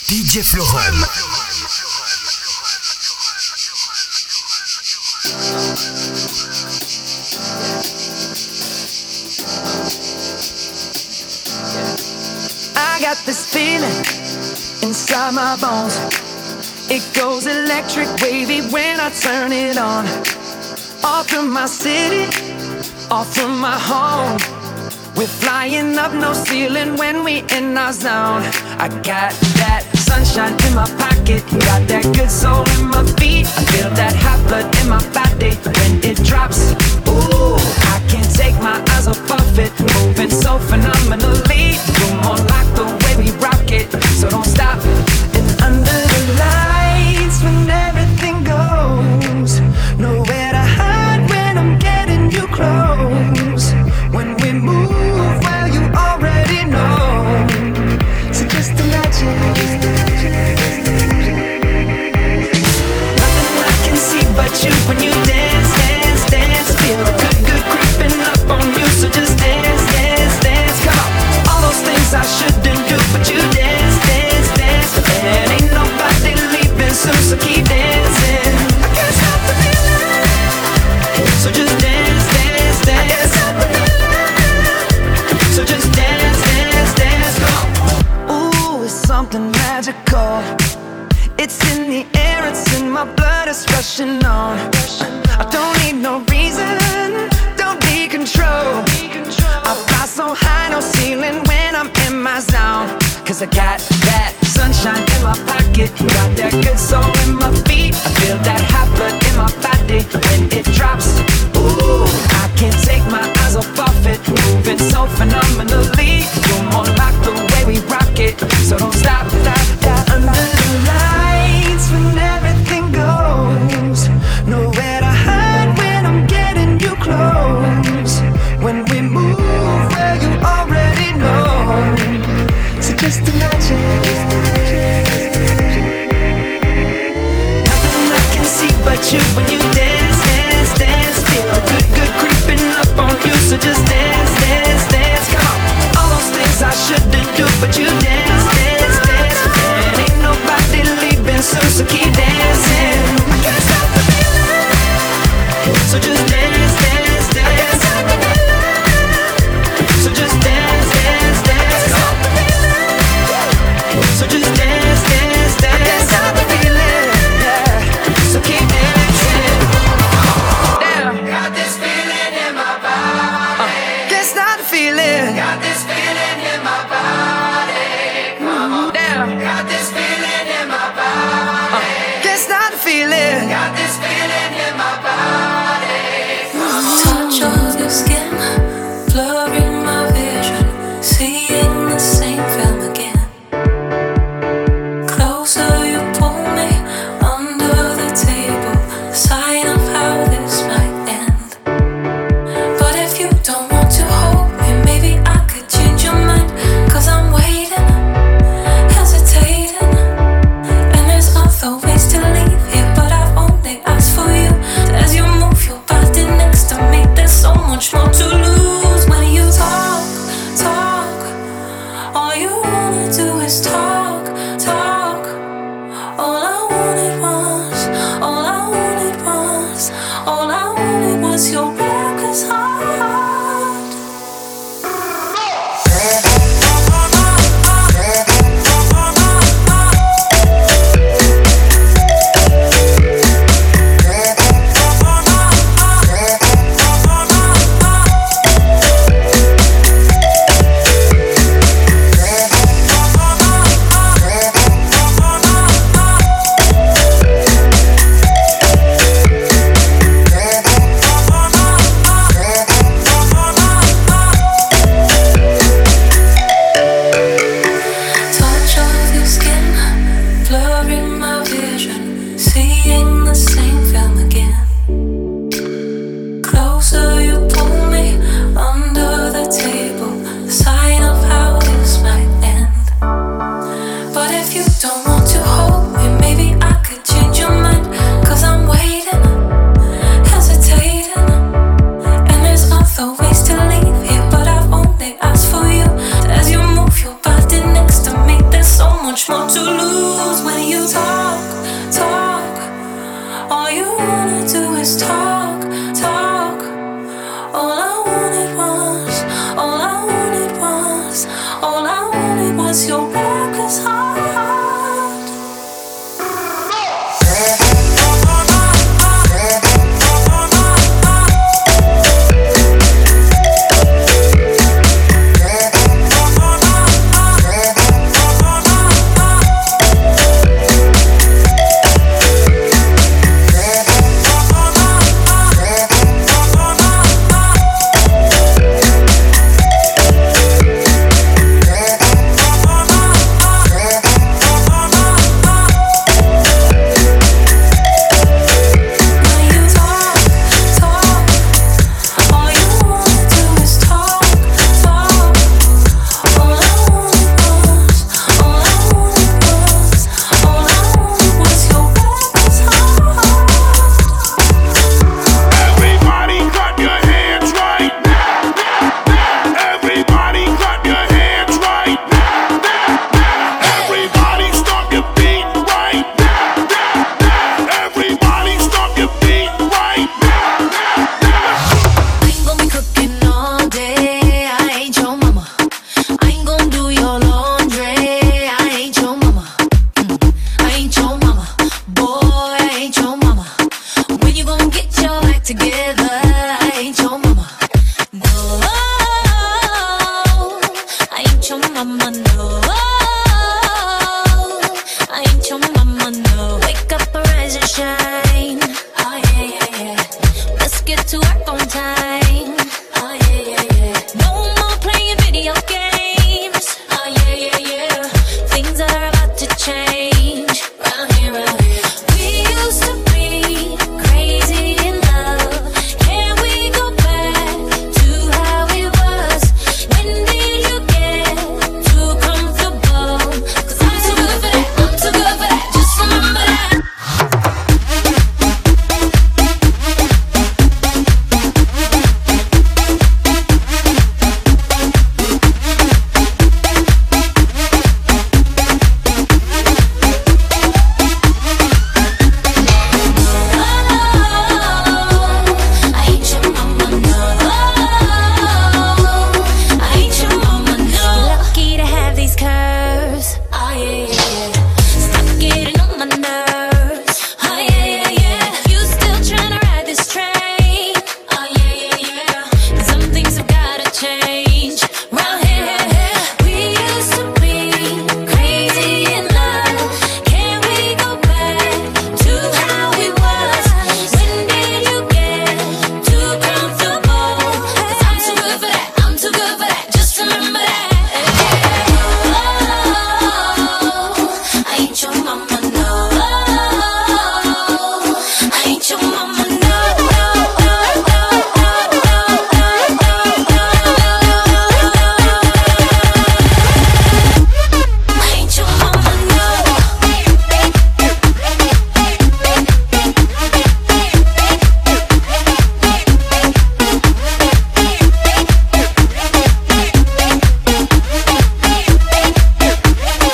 DJ Florum. I got this feeling inside my bones. It goes electric wavy when I turn it on. Off from my city, off from my home. We're flying up, no ceiling when we in our zone. I got that sunshine in my pocket, got that good soul in my feet. I feel that hot blood in my body when it drops. Ooh, I can't take my eyes off of it, moving so phenomenally. You're more like the way we rock it, so don't stop. And under the lights, when everything goes, nowhere to hide when I'm getting you close. When we move, well, you already know. So just imagine. Nothing I can see but you when you dance, dance, dance. Feel good, good creeping up on you. So just dance, dance, dance. Come on. All those things I shouldn't do, but you dance, dance, dance. And ain't nobody leaving soon, so keep dancing. I can't stop the feeling. So just dance, dance, dance. I can't stop the feeling. So just dance, dance, dance. Come on. Ooh, it's something magical. It's in the air, it's in my blood, it's rushing on. I don't need no reason, don't need control. I fly so high, no ceiling when I'm in my zone. Cause I got that sunshine in my pocket, got that good soul in my feet. I feel that hot blood in my body when it drops. Ooh, I can't take my eyes off of it, moving so phenomenally. You're more like the way we rock it, so don't stop, stop, stop. Under the lights when everything goes, nowhere to hide when I'm getting you close. When we move, well, you already know. So just imagine. Nothing I can see but you when you dance, dance, dance. Feel good, good creeping up on you. So just dance, dance, dance. Come on. All those things I shouldn't do, but you dance, dance, dance. And ain't nobody leaving soon, so keep dancing. I can't stop the feeling. So just dance, dance, dance. So just dance, dance, dance. So just dance, dance, dance. Stop the feeling, yeah. So keep dancing. Damn. Got this feeling in my body. Can't stop the feeling. Got this feeling in my body. Come on. Damn. Got this feeling in my body. Can't stop the feeling. Got this feeling in my body. Touch of your skin, blurring my vision, seeing the same film again. Closer you pull me, under the table, sign of how this might end. But if you don't want to hold me, maybe I could change your mind. Cause I'm waiting, hesitating, and there's other ways to leave here, but I've only asked for you. As you move your body next to me, there's so much more to lose. When you talk, talk, all you wanna do is talk, talk. All I wanted was, all I wanted was, all I wanted was your reckless heart. wanna do is talk, talk. All I wanted was, all I wanted was, all I wanted was your reckless heart.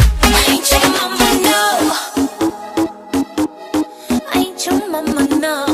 Mama, no.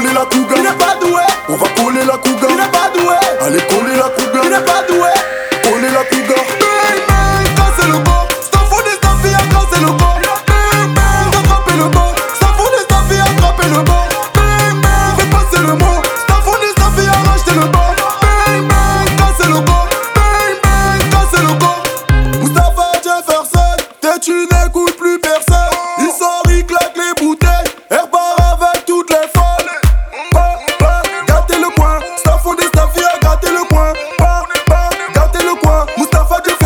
coller la cougar. Il n'est pas doué. On va coller la cougar. Il n'est pas doué. Allez coller la cougar. Il n'est pas doué. Coller la cougar. Bang bang, casser le bord. S'en fout des staffilles, casser le bord. Bang bang, attraper le bord. S'en fout des staffilles, attraper le bord. Bang bang, fais passer le mot. S'en fout des staffilles, racheter le bord. Bang bang, casser le bord. Bang bang, casser le bord. Moustapha Jefferson, t'es tu n'écoutes plus personne. Il sort, il claque les bouteilles. Elle part avec toutes les folles. Gâtez le coin, Staffon des Staffia, gâtez le coin. Gâtez le coin, Moustapha Jefferson.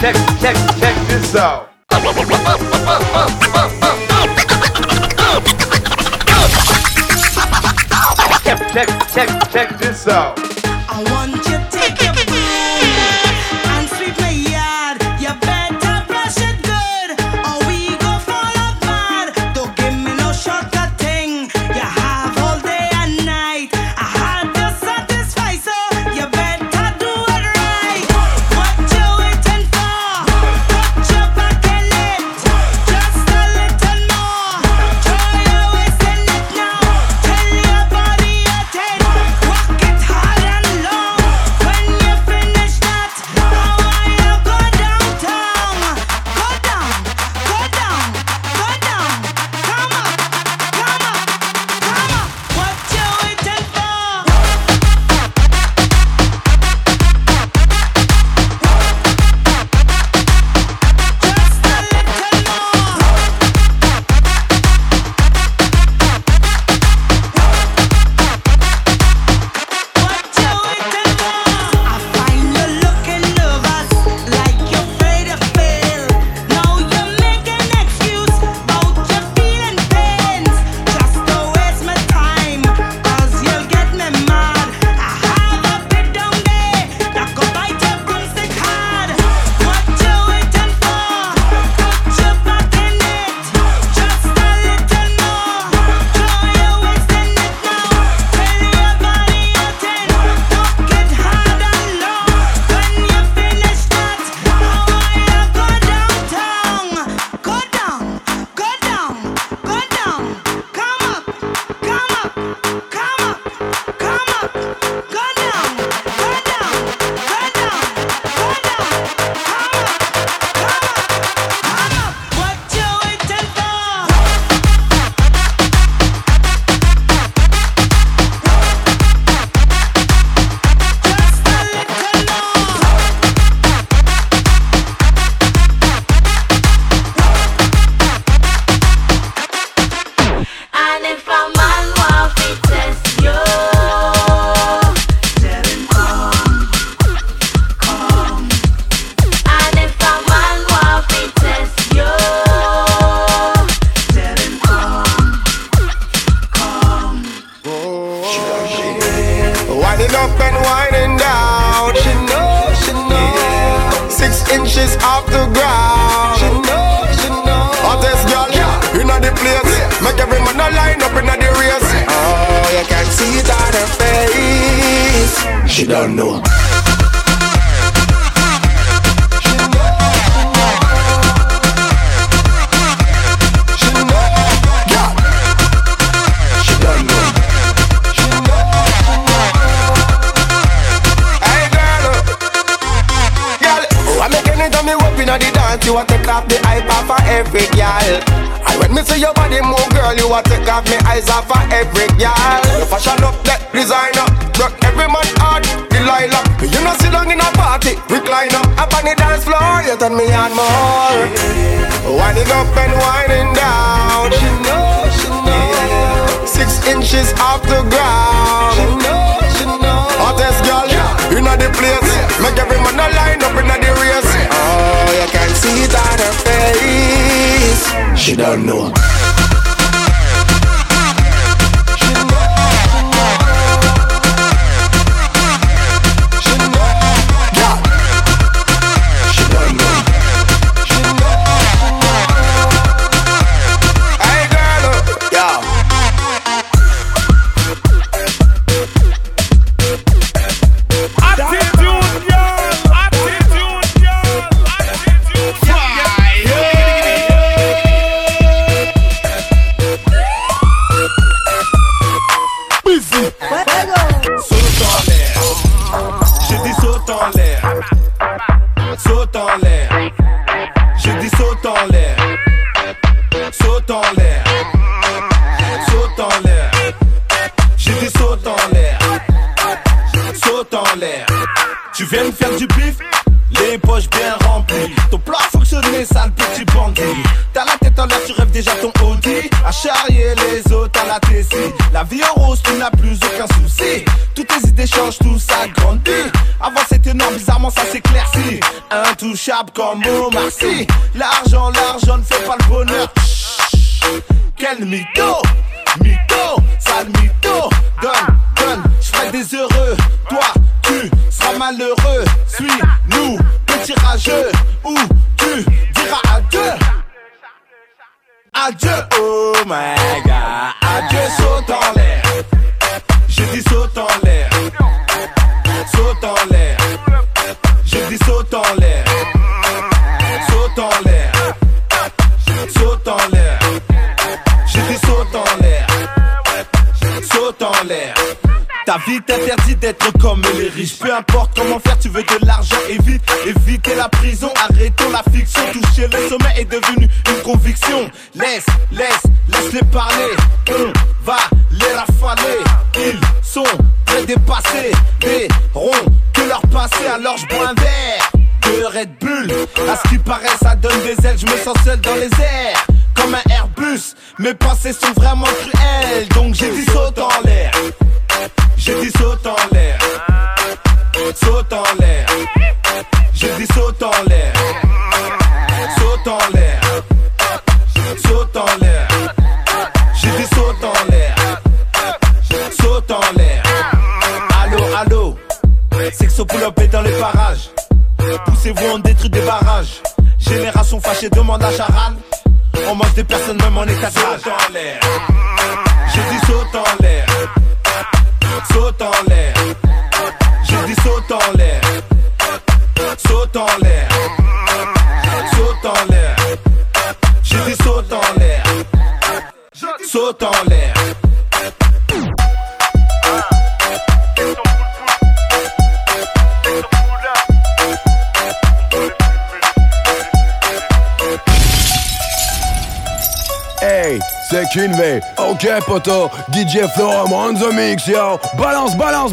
check this out. Check this out. I want you to take your broom and sweep my yard. You better brush it good, or we go fall apart. Don't give me no shortcut thing. You have all day and night. I had to satisfy, so you better do it right. What you waiting for? Put your back in it, just a little more. Try you wasting it now. Tell your body you're dead. Walk it hard and long. When you finish that, now you go downtown. Go down, go down, go down. Come up, come up, come up. What you waiting for? Just a little more. What you waiting for? I find you looking nervous, like you're afraid to fail. Now you're making excuse about your feeling pains. Just don't waste my time, 'cause you'll get me mad. I have a bit down there that go bite your broomstick hard. What you waiting for? Put your back in it, just a little more. Try you wasting it now. Tell your body you're dead. Knock it hard and long. When you finish that, now you go downtown. Go down, go down, go down. Come up, come up, come up, come up. Go down, go down, go down, go down. Come up, come up, come up. What you waiting for? Just a little more. And if a man want to test you, tell him come. And if a man want to test you, tell him come. Winding up and winding down. She knows, she knows. 6 inches off the ground. She knows, she knows. Hottest girl inna the place. Make every man a line up inna the race. Oh, you can see it on her face. She don't know. She knows, she knows. Yeah. She don't know. She knows. Hey girl, oh, I make anytime me up inna the dance, you a take off the hype off of every girl. And when me see your body move, girl, you a take off me eyes off of every girl. You fashion up that designer, broke every man heart, Delilah. You know sit down in a party, recliner, up on the dance floor, you turn me on more. Winding up and winding down. She knows, she knows. 6 inches off the ground. She knows, she knows. Hottest girl inna the place. Make every man a line up inna the race. Oh, you can see it on her face. She don't know. She knows, she knows. Yeah. She don't know. She knows. Hey girl, yeah. Saute en l'air. J'ai dit saute en l'air. Saute en l'air. Saute en l'air. J'ai dit saute en l'air. Saute en l'air. Tu viens me faire du bif, les poches bien remplies. Ton plan a fonctionné, sale petit bandit. T'as la tête en l'air, tu rêves déjà ton Audi. À charrier les autres à la Tessie. La vie en rose, tu n'as plus aucun souci. Toutes tes idées changent, tout ça grandit. Avant c'était non, bizarrement commence à s'éclaircir. Intouchable comme Omar Sy. L'argent ne fait pas le bonheur. Quel mytho, sale mytho. Donne, j'fais des heureux. Toi, tu seras malheureux. Suis-nous, petit rageux. Ou tu diras adieu. Adieu, oh my god. Adieu, saute en l'air. J'ai dit saute en l'air. Saute en l'air. J'ai dit saute en l'air. Saute en l'air. Saute en l'air. J'ai dit saute en l'air. Saute en l'air. Ta vie t'interdit d'être comme les riches. Peu importe comment faire, tu veux de l'argent. Éviter la prison, arrêtons la fiction. Toucher le sommet est devenu une conviction. Laisse-les parler. On va les rafaler. Ils sont très dépassés. Des ronds que leur passé. Alors je bois un verre de Red Bull. À ce qui paraît, ça donne des ailes. Je me sens seul dans les airs. Comme un Airbus. Mes pensées sont vraiment cruelles. Donc j'ai dit saute en l'air. J'ai dit saute en l'air. Saute en l'air. J'ai dit saute en l'air. Saute en l'air. Saute en l'air. J'ai dit saute en l'air. Saute en l'air. Allô. Sexo pull-up est dans les parages. Poussez-vous, on détruit des barrages. Génération fâchée demande à Charal. On mange des personnes même en état de rage. Saute en l'air. J'ai dit saute en l'air. Saute en l'air. J'ai dit saute en l'air. Saute en l'air. Saute en l'air. J'ai dit saute en l'air. Saute en l'air. Hey, c'est Kinvey. Ok, poto. DJ Flow, I'm on the mix, yo. Balance.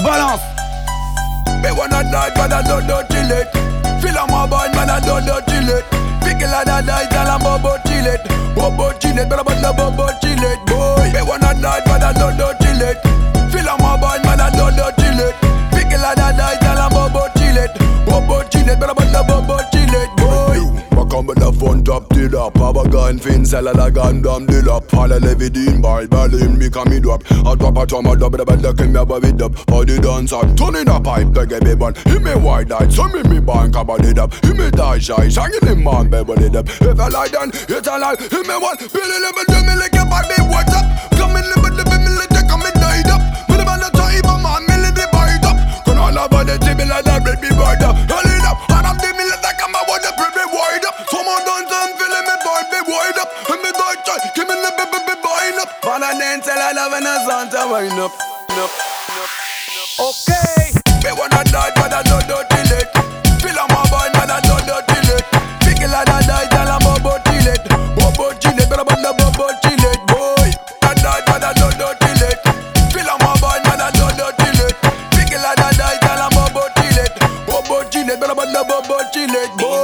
Me wanna die, but I don't chill it. Feel on my boy, man, I don't chill it. Pickle and I die, tell I'm bobo chill it. Bobo chill it, but I'm not bobo chill it, boy. Me wanna die, but I don't chill it. Feel on my boy, man, I don't chill it. Pickle and I die, tell I'm bobo chill it. Bobo chill it, but I'm not bobo chill it, boy. Come with the phone top till up. Have a gun fin, sell a gun down till up. All a levy din by Berlin, me come me drop. I drop a drum, I double the bed, look in me above it up. For the dancer, turn in a pipe, take a big one. He me white light, so me bank about it up. He me die shy, shaggy the man, baby it up. If I lie down, it's a lie. He me one, Billy level, do me like a baby, what's up? Come in, live, me like a come and died up. But the man that try, even man, me let the bite up. Can all about the table like that, baby, bird up. Hold it up, and I'm the mill that come, I want the baby wide up. Someone done some feeling me boy be wide up. And me die try, give me the baby wind up. Man and then tell I love and a son to wind up. Okay. Me wanna die but I don't chill it. Feel on my boy man I don't chill it. Pickle and I die tell I'm bobo chill it. Bobo chill it, but I'm not bobo chill it, boy. I die but I don't chill it. Feel on my boy man I don't chill it. Pickle and I die tell I'm bobo chill it. Bobo chill it, but I'm not bobo chill it, boy.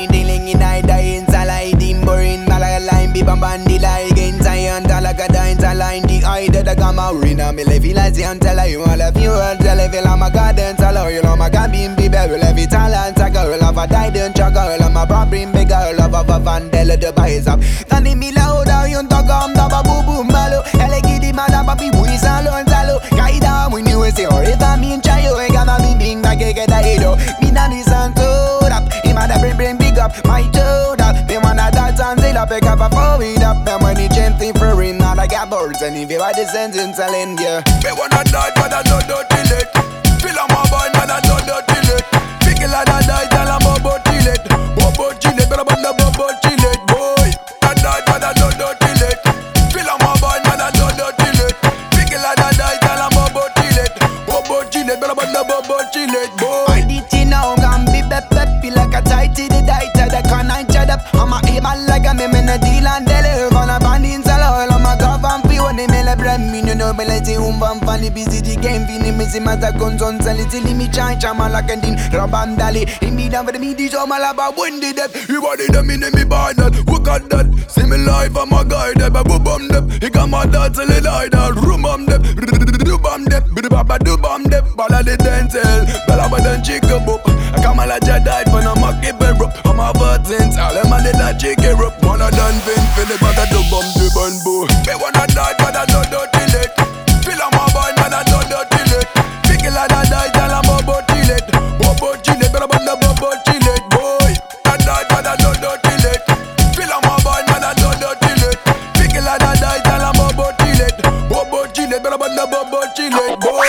Bandila against Zion, Talakada in Taline, the eye that I come out, Rina, me live like Zion, tell her you all of you, and tell her feel I'm a garden, tell her you know my cabin, be better, every talent, I girl of a died, chuck girl, I'm a problem, big girl of a vandella, the buys up. Tani me loud, you talk on the boo boo malo, Elegidi, madam, papi, we salon, salo, Kaida, when you say, or if I mean, chayo, I got my being like a get a hedo, me nani santo, up, him at the bring big up, my toe, up, me wanna dance and say, up, pick up a phone. Up them when he gently for him, now I got birds and if you are the sentence telling you. Me wanna die but I don't chill it. Feel on my boy man I don't chill it. Pickle and I die tell I'm bobo chill it. Bobo chill it, but I'm not bobo chill it, boy. I die but I don't chill it. Feel on my boy man I don't chill it. Pickle and I die tell I'm bobo chill it. Bobo chill it, but I'm not bobo chill it, boy. I did you know I'm be pep feel like a tight to the die to the can I chat up. I'm a able like a me in a deal and deliver on a band in Salo. I'm a government fee when they mail a brand me no nobility van funny busy game, feeling me see my guns on silly me chai chamalakandin rabandali. In me down for the media, so malaba when did that? You body them in me buy that. Look at that. See me live, I'm a guy that. But bum them. He got my dad till he died. Rumam them. Dubam them. Baba dubam them. Bala the dental. Bala badan chicken book. I come a la Jedi for no monkey bed rope. I'm a virgin. All them a little chicken rope. One of them been feeling but I dubam the bamboo. Me wanna die but I don't till it. Feel I'm a boy but I don't till it. Pick it like I die till I'm about till it. Bobo chile, but I'm the bobo chile, boy. I die but I don't till it. Feel I'm a boy but I don't till it. Pick it like I die till I'm about till it. Bobo chile, but I'm the bobo chile, boy.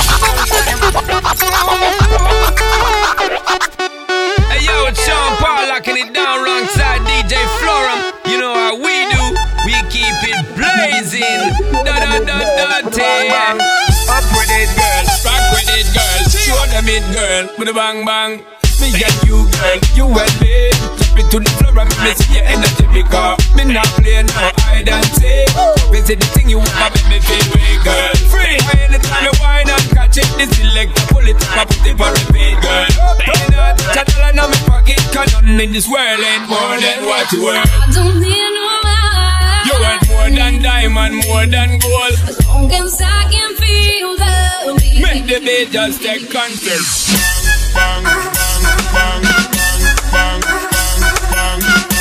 Hey yo, it's Sean Paul locking it down alongside DJ Florum. You know how we do, we keep it blazing. Da-da-da-da-da. Up with it, girl, rock with it, girl. Show them it, girl, with a bang bang. Me and you, girl, you and me. Drop it to the floor and me see your energy because me not play no hide and seek. Visit the thing you want, make me feel way, girl. Free, anytime you whine and catch it, this selector pull it up, I put it for repeat, girl. Ain't not chattel in my pocket, 'cause nothing in this world ain't more than what you worth. I don't need no man. You worth more than diamond, more than gold. As long as I can feel the beat. Make the beat just take control. Bang, bang, bang, bang, bang, bang,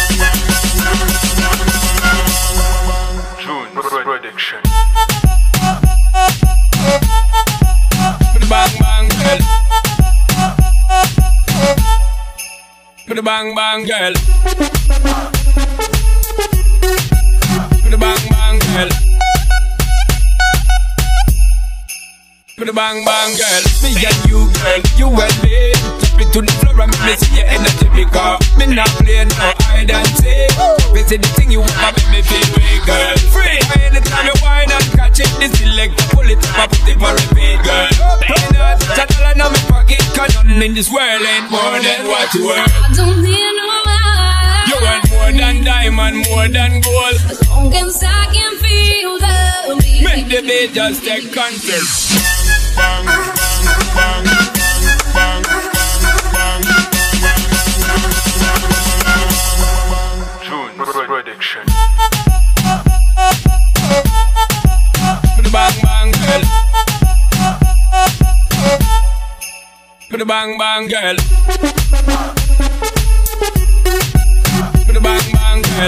bang. June prediction. Put the bang bang girl. Put the bang bang girl. Put the bang bang girl. Put the bang bang girl. Me and you girl, you and me. Drop it to the floor and me see your energy because me not play no hide and seek. Visit the thing you want, make me feel way, girl. Free, anytime you whine and catch it, this selector pull it up, I put it for repeat, girl. Ain't not chattel in my pocket, 'cause nothing in this world ain't more than what you worth. I don't need no man. You worth more than diamond, more than gold. As long as I can feel the beat. Make the beat just take control. Bang, bang, bang, bang, bang, June prediction. Put the bang bang girl. Put the bang bang girl. Put the bang bang girl.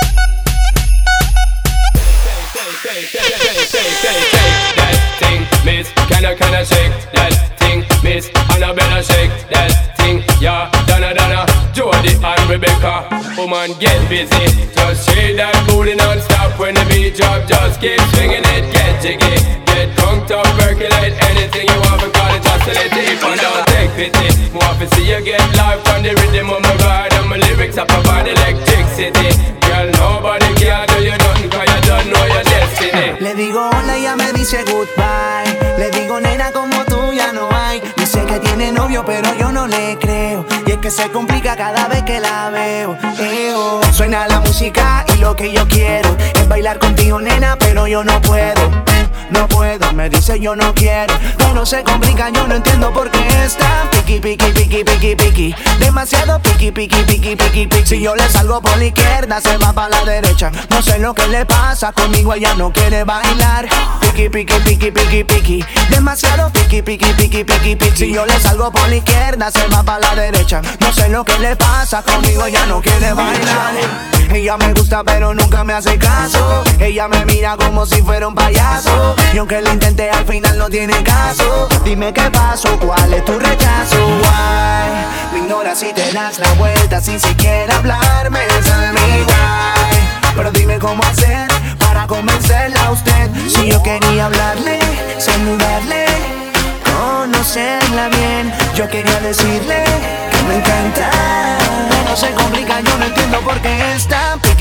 Take that thing, miss. Can I shake that thing, miss? Annabella shake that thing, yeah. Donna, Jody and Rebecca. Woman, get busy. Just shake that booty non-stop when the beat drop. Just keep swinging it, get jiggy. Get crunked up, percolate anything you want because it's oscillating. If I don't take pity, more to see you get live from the rhythm of my ride. And my lyrics up about electricity. Girl, nobody can do you nothing 'cause you don't know your destiny. Le digo hola y ella me dice goodbye. Le digo nena como tú ya no hay. Dice que tiene novio pero yo no le creo. Y es que se complica cada vez que la veo. Suena la música y lo que yo quiero es bailar contigo nena pero yo no puedo. No puedo, me dice yo no quiero. Pero se complica, yo no entiendo por qué está piqui, piqui, piqui, piqui, piqui. Demasiado piqui, piqui, piqui, piqui, piqui. Si yo le salgo por la izquierda, se va para la derecha. No sé lo que le pasa, conmigo ella no quiere bailar. Piqui, piqui, piqui, piqui, piqui. Demasiado piqui, piqui, piqui, piqui, piqui. Si yo le salgo por la izquierda, se va para la derecha. No sé lo que le pasa, conmigo ella no quiere bailar. Ella me gusta pero nunca me hace caso. Ella me mira como si fuera un payaso. Y aunque lo intenté al final no tiene caso. Dime qué pasó, cuál es tu rechazo. Why? Me ignoras y te das la vuelta sin siquiera hablarme. Esa es mi why. Pero dime cómo hacer para convencerla a usted. Si yo quería hablarle, saludarle, conocerla bien. Yo quería decirle que me encanta. No se complica, yo no entiendo por qué está piqui,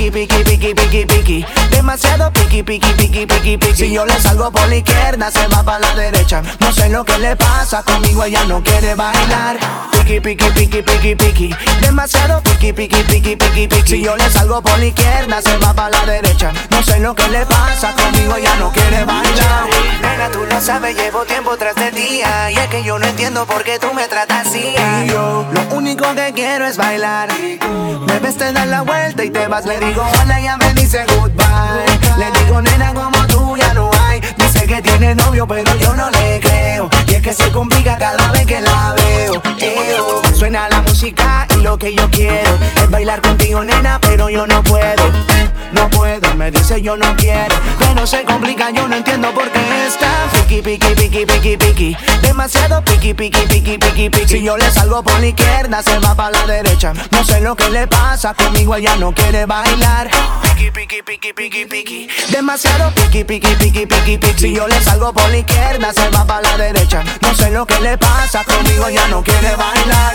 piqui, piqui, piqui, piqui, piqui. Demasiado piqui, piqui, piqui, piqui, piqui. Si yo le salgo por la izquierda, se va para la derecha. No sé lo que le pasa, conmigo ella no quiere bailar. Piqui, piqui, piqui, piqui, piqui. Demasiado piqui, piqui, piqui, piqui, piqui. Si yo le salgo por la izquierda, se va para la derecha. No sé lo que le pasa, conmigo ella no quiere bailar. Nena, tú lo sabes, llevo tiempo tras de día. Y es que yo no entiendo por qué tú me tratas así. Y yo, lo único que quiero es bailar. Me ves, te das la vuelta y te vas. Le digo hola, ella me dice goodbye. Le digo nena, como tú ya no hay. Dice que tiene novio, pero yo no le creo. Y es que se complica cada vez que la veo. Suena la música y lo que yo quiero es bailar contigo, nena, pero yo no puedo. No puedo, me dice yo no quiero. Pero se complica, yo no entiendo por qué está piqui, piqui, piqui, piqui, piqui. Demasiado piqui, piqui, piqui, piqui, piqui. Si yo le salgo por la izquierda, se va para la derecha. No sé lo que le pasa, conmigo ella no quiere bailar. Piqui, piqui, piqui, piqui, piqui. Demasiado piqui, piqui, piqui, piqui, piqui. Si yo le salgo por la izquierda, se va para la derecha. No sé lo que le pasa, conmigo ella no quiere bailar.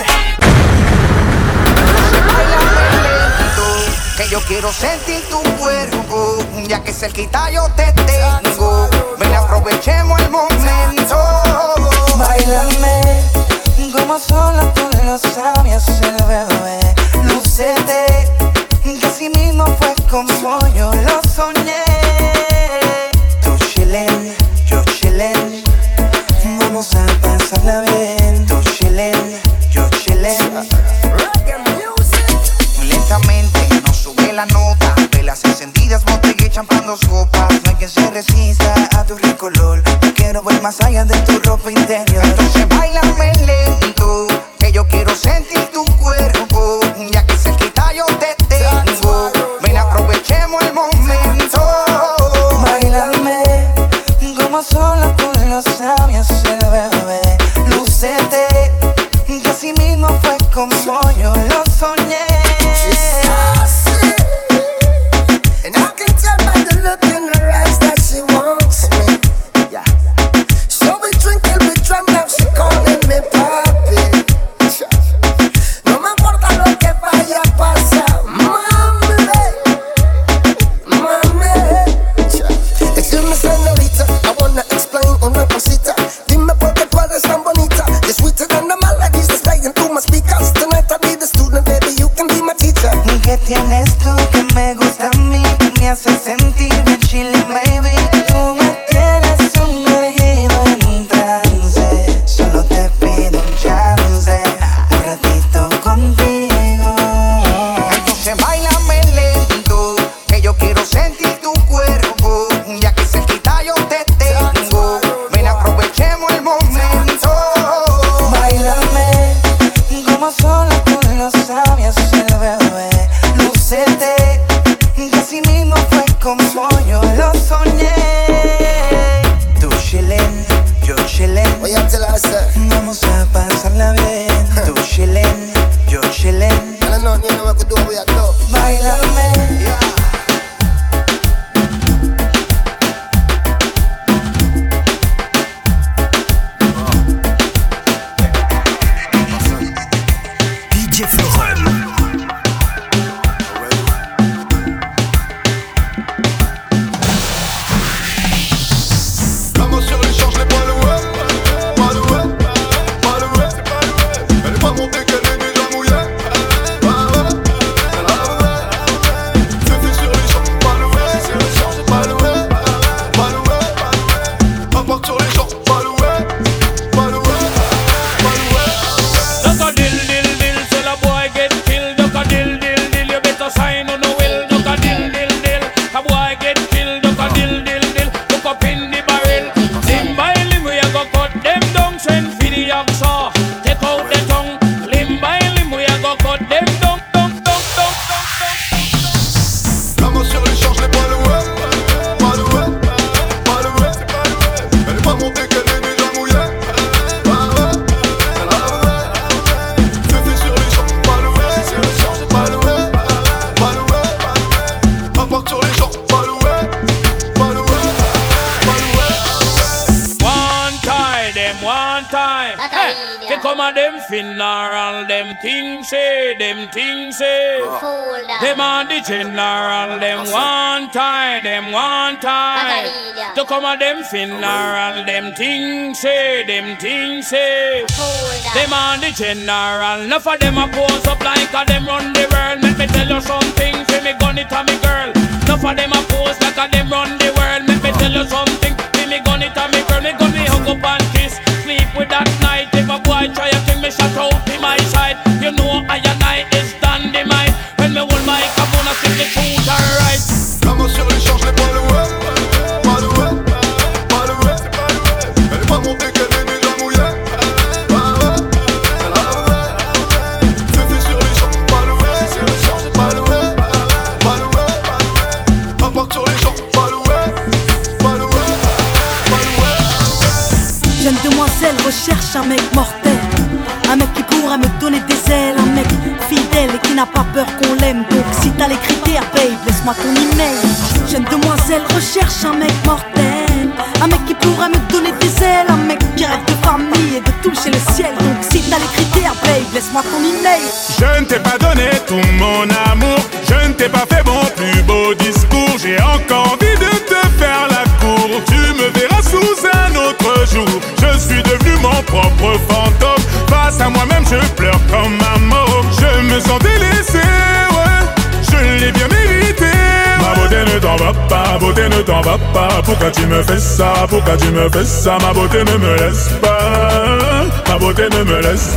Que yo quiero sentir tu cuerpo, ya que cerquita yo te tengo. Ven, aprovechemos el momento. Báilame, como solo tú lo sabías hacer, bebé. Lúcete, que así mismo fue como yo lo soñé. Tú chillen, yo chillen, vamos a pasarla bien. Tú chillen, yo chillen. Lentamente nos sube la nota, velas encendidas, botella y champán, dos copas. No hay quien se resista a tu rico olor. Yo quiero ver más allá de tu ropa interior. Entonces bailame lento, que yo quiero sentir tu cuerpo, ya que cerquita yo te tengo. Ven, aprovechemos el momento. Bailame, como solo tú lo sabías hacer, bebé. Lúcete, que así mismo fue como yo lo soñé. And I can tell by the look in her eyes that she wants me. Yeah. So we drink till we drunk, now she calling me papi. No me importa lo que vaya a pasar, mami, mami. Excuse me, señorita, I wanna explain una cosita. Dime por qué tú eres tan bonita. You're sweeter than the melodies that's playing through my speakers. Tonight I'll be the student, baby, you can be my teacher. ¿Qué tienes tú que me gusta a mí? Me hace sentir bien chilling, baby. Tú me tienes sumergido en un trance. Solo te pido un chance, un ratito contigo. Entonces bailame lento, que yo quiero sentir tu cuerpo, ya que cerquita yo te tengo. Ven, aprovechemos el momento. Bailame, como solo tú lo sabías hacer, bebé. Lúcete, que así mismo fue como yo lo soñé. Tú chillen, yo chillen. Oye, tell her, sir. Vamos a pasarla bien. Tú chillen, yo chillen. I don't know, you know what to do, we are dope. Bailame. DJ Forum. Maman sur les champs, je l'ai pas loué. Pas loué, pas loué. Elle est pas montée qu'elle est déjà mouillée. Fais sur les champs, pas loué. Pas loué, pas loué. Apporte sur les champs, pas loué. Pas loué, pas loué. Duck a dill dill dill, till a boy get killed. Duck a dill dill dill, you better sign on the will. Duck a dill dill dill, a boy get killed. Duck a dill dill dill, look up in the barrel. Limb by limb we a go cut them down. Send for the hacksaw, take out the tongue. Limb by limb we a go cut them down, down, down, down, down. Maman sur les champs, je l'ai pas loué. Pas loué, pas loué. Elle est pas montée qu'elle est déjà mouillée. Fais sur les champs, pas loué. Pas loué, pas loué. Apporte sur les champs, pas loué. Pas loué, pas loué. One time, them one time. Hey, they come and them funeral, them things say, them things say. Them on the general, them one time, to come at them funeral, them things say, them things say. Them on the general, enough of them a pose up like a them run the world. Let me tell you something, say me gun it to me girl. Enough of them a pose like a them run the world. Let me tell you something, say me gun it to me girl. Me gun me hug up and kiss, sleep with that night. If a boy try a thing, me shut out in my side. You know I and I is dynamite. When me hold my microphone, I sing the truth alright. La main sur les champs, je l'ai pas loué. Pas loué, pas loué. Elle est pas montée qu'elle est déjà mouillée. Féfé sur les champs, pas loué. Pas loué, pas loué. Impact sur les champs, pas loué. Pas loué, pas loué. Jeune demoiselle recherche un mec mortel, un mec qui pourra me donner des ailes, un mec fidèle et qui n'a pas peur qu'on l'aime. Donc si t'as les critères, babe, laisse-moi ton email. Jeune demoiselle recherche un mec mortel, un mec qui pourra me donner des ailes, un mec qui rêve de famille et de toucher le ciel. Donc si t'as les critères, babe, laisse-moi ton email. Je ne t'ai pas donné tout mon amour, je ne t'ai pas fait mon plus beau discours. J'ai encore envie de te faire la cour, tu me verras sous un autre jour. Je suis devenu mon propre fantôme, face à moi-même je pleure comme un mort. Je me sens délaissé, ouais, je l'ai bien mérité. Ma beauté ne t'en va pas, beauté ne t'en va pas. Pourquoi tu me fais ça, pourquoi tu me fais ça? Ma beauté ne me laisse pas, ma beauté ne me laisse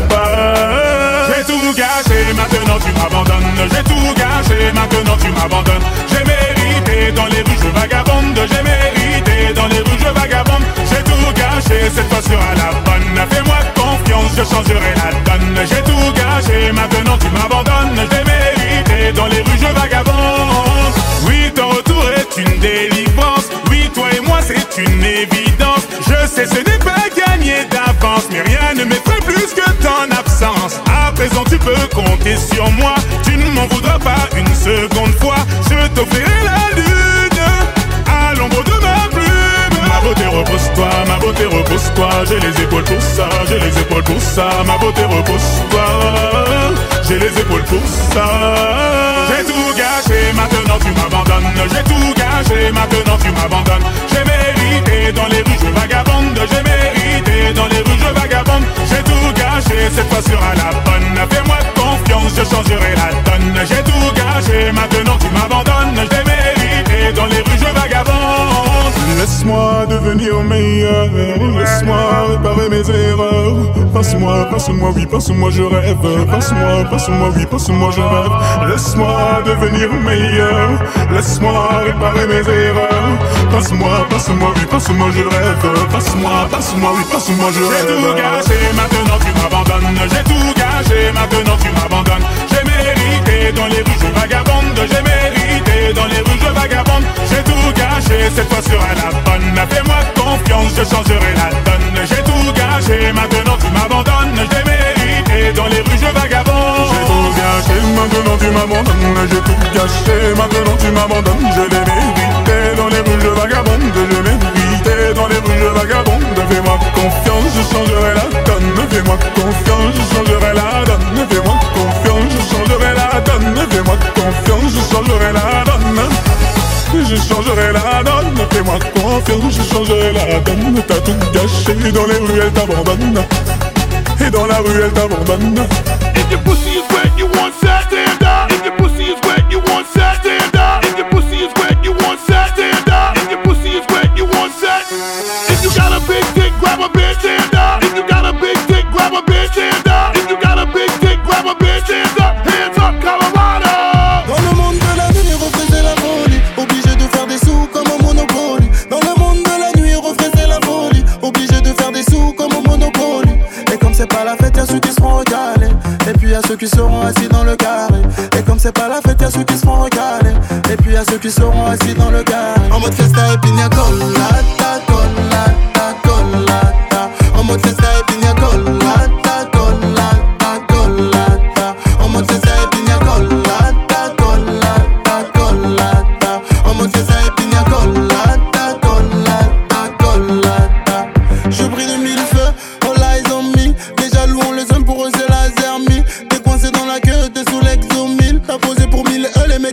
pas. J'ai tout gâché, maintenant tu m'abandonnes. J'ai tout gâché, maintenant tu m'abandonnes. J'ai mérité, dans les rues je vagabonde. J'ai mérité, dans les rues je vagabonde. J'ai tout gâché, cette fois sera la bonne. Fais-moi confiance, je changerai la donne. J'ai tout gâché, maintenant tu m'abandonnes. J'ai mérité, dans les rues je vagabonde. Oui, ton retour est une délivrance. Oui, toi et moi c'est une évidence. Je sais ce n'est pas gagné d'avance, mais rien ne m'effraie plus que ton absence. À présent tu peux compter sur moi, tu ne m'en voudras pas une seconde fois. Je t'offrirai la lune à l'ombre de ma plume. Ma beauté repose-toi, ma beauté repose-toi. J'ai les épaules pour ça, j'ai les épaules pour ça. Ma beauté repose-toi, j'ai les épaules pour ça. J'ai tout gâché, maintenant tu m'abandonnes. J'ai tout gâché, maintenant tu m'abandonnes. J'ai mérité, dans les rues je vagabonde. J'ai mérité, dans les rues je vagabonde. J'ai tout gâché, cette fois sera la bonne. Fais-moi confiance, je changerai la donne. J'ai tout gâché, maintenant tu m'abandonnes. J'ai mérité, dans les rues je vagabonde. Laisse-moi devenir meilleur, laisse-moi réparer mes erreurs. Passe-moi, passe-moi, oui, passe-moi, je rêve. Passe-moi, passe-moi, oui, passe-moi, je rêve. Laisse-moi devenir meilleur, laisse-moi réparer mes erreurs. Passe-moi, passe-moi, oui, passe-moi, je rêve. Passe-moi, passe-moi, oui, passe-moi, je rêve. J'ai tout gâché, maintenant tu m'abandonnes. J'ai tout gâché, maintenant tu m'abandonnes. J'ai mérité, dans les rues je vagabonde. J'ai mérité, dans les rues je vagabonde. J'ai tout gâché, cette fois sera la bonne. Fais-moi confiance, je changerai la donne. J'ai tout gâché, maintenant tu m'abandonnes. J'ai mérité, dans les rues je vagabonde. J'ai tout gâché, maintenant tu m'abandonnes. J'ai tout gâché, maintenant tu m'abandonnes. Je l'ai mérité, dans les rues je vagabonde. Je l'ai mérité, dans les rues je vagabonde. Fais-moi confiance, je changerai la donne. Fais-moi confiance, je changerai la donne. Fais-moi confiance, je changerai la donne. Fais-moi confiance, je changerai la donne. Je changerai la donne, fais-moi confiance, je changerai la donne. T'as tout gâché, dans les rues elle t'abandonne. Et dans la rue elle t'abandonne. If your pussy is wet, you want sex, stand up. If your pussy is wet, you want sex, stand up. If your pussy is wet, you want sex, stand up. If your pussy is wet, you want sex. If you got a big dick, grab a bitch, stand up. If you got a big dick, grab a bitch, stand up. If you got a big dick, grab a bitch, stand up. Hands up, Colorado. Dans le monde de la nuit, refaiser la folie. Obligé de faire des sous comme au Monopoly. Dans le monde de la nuit, refaiser la folie. Obligé de faire des sous comme au Monopoly. Et comme c'est pas la fête, y'a ceux qui seront recalés. Et puis y'a ceux qui seront assis dans le carré. Et comme c'est pas la fête, y'a ceux qui seront recalés. Et puis y'a ceux qui seront assis dans le carré. En mode festa et pina colada, colada, colada. En mode festa et pina colada, colada, colada. En mode festa et pina colada, colada, colada. En mode festa et pina colada, colada, colada. Je brille de mille feux, all eyes on me. Déjà louons les hommes, pour eux c'est la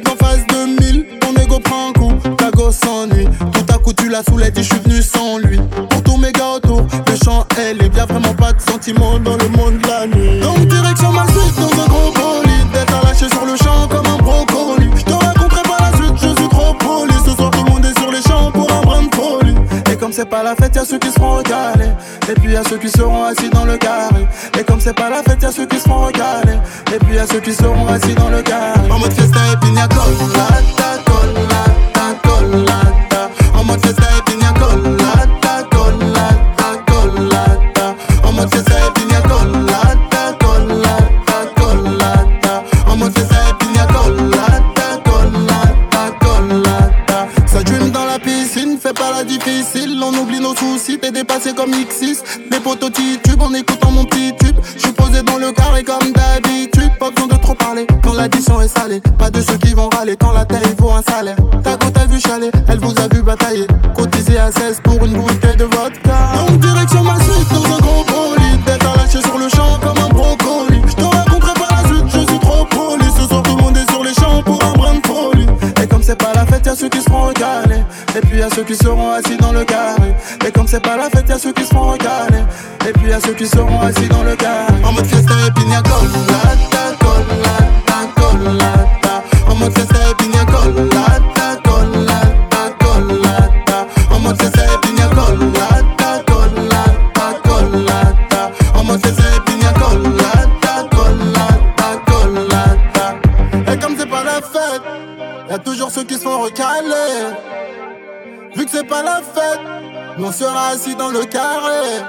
mec en face de 1000, ton ego prend un coup, ta gosse s'ennuie. Tout à coup tu la saoules et dis je suis venu sans lui. Pour tous mes gars autour, le chant elle est bien vraiment pas de sentiments dans le monde de la nuit. Donc direction ma suite dans un gros bolide, d'être à lâcher sur le champ comme un brocoli. Je te raconterai pas la suite, je suis trop poli. Ce soir tout le monde est sur les champs pour un brin de folie. Et comme c'est pas la fête, y'a ceux qui seront recalés. Et puis y'a ceux qui seront assis dans le carré. Et comme c'est pas la fête, y'a ceux qui seront recalés. Et puis y'a ceux qui seront assis dans le carré. En mode fiesta et pina colada, colada, colada. En mode fiesta et pina colada, colada, colada. En mode fiesta et pina colada, colada, colada. En mode fiesta et pina colada, colada, colada. Ça dream dans la piscine, fais pas la difficile. On oublie nos soucis, t'es dépassé comme X6. Les potos titubent en écoutant mon petit tube. J'suis posé dans le carré comme d'habitude. Pas besoin de trop parler quand l'addition est salée. Pas de ceux qui vont râler quand la taille vaut un salaire. Ta côte a vu chaler, elle vous a vu batailler. Cotisé à 16 pour une bouteille de vodka. Donc direction ma suite dans un gros bolide. D'être à lâcher sur le champ comme un brocoli. J'te raconterai pas la suite, je suis trop poli. Ce soir tout le monde est sur les champs pour un brin de folie. Et comme c'est pas la fête, y'a ceux qui seront recalés. Et puis y'a ceux qui seront assis dans le carré. Et comme c'est pas la fête, y'a ceux qui seront recalés. Et puis y'a ceux qui seront assis dans le carré. En mode fiesta et pina colada, colada, colada. En mode fiesta et pina colada, colada, colada. En mode fiesta et pina colada, colada, colada. En mode fiesta et pina colada, colada, colada. Et comme c'est pas la fête, y'a toujours ceux qui se font recaler. Vu que c'est pas la fête, nous on sera assis dans le carré.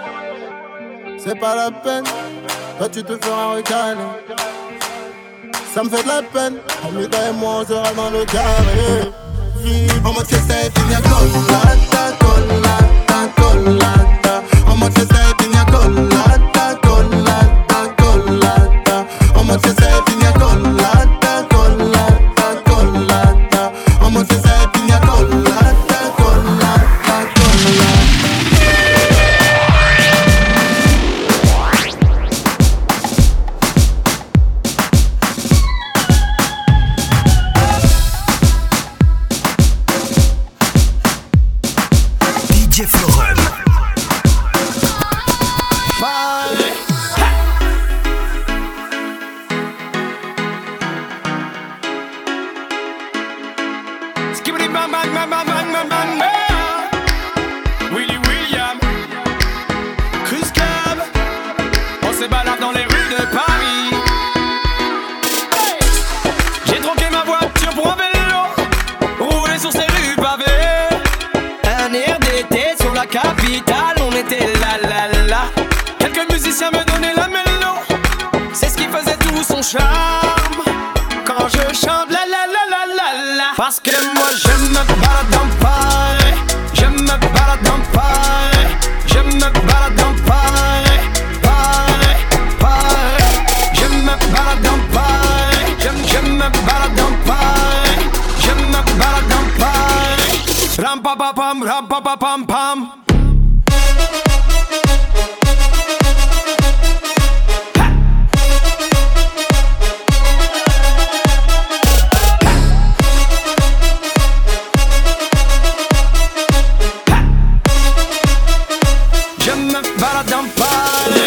C'est pas la peine, toi tu te feras recaler. Ça me fait de la peine, Amida et moi on sera dans le carré. En mode fiesta et pina colada, colada, colada. En mode fiesta et pina colada, colada, colada. En mode fiesta et pina colada, colada, colada. En mode fiesta et pina colada, colada, colada. DJ Florum. Skibidi bang bang bang bang bang bang bang. Willy William, Chris Cab, on se balade dans les rues de Paris. Hey, j'ai troqué ma voiture pour un vélo, rouler sur ces rues pavées. Un air d'été sur la capitale, on était là là là. Quelques musiciens me donnaient la mélo, c'est ce qui faisait tout son charme. Quand je chante la la la la la la. Parce que moi je me balade dans Paris, je me balade dans Paris, je me balade dans Paris, Paris, Paris. Je me balade dans Paris, je me balade dans Paris, je me balade dans Paris. Ram pa pa pam, ram pa pa pam pam. Je me balade dans Paris.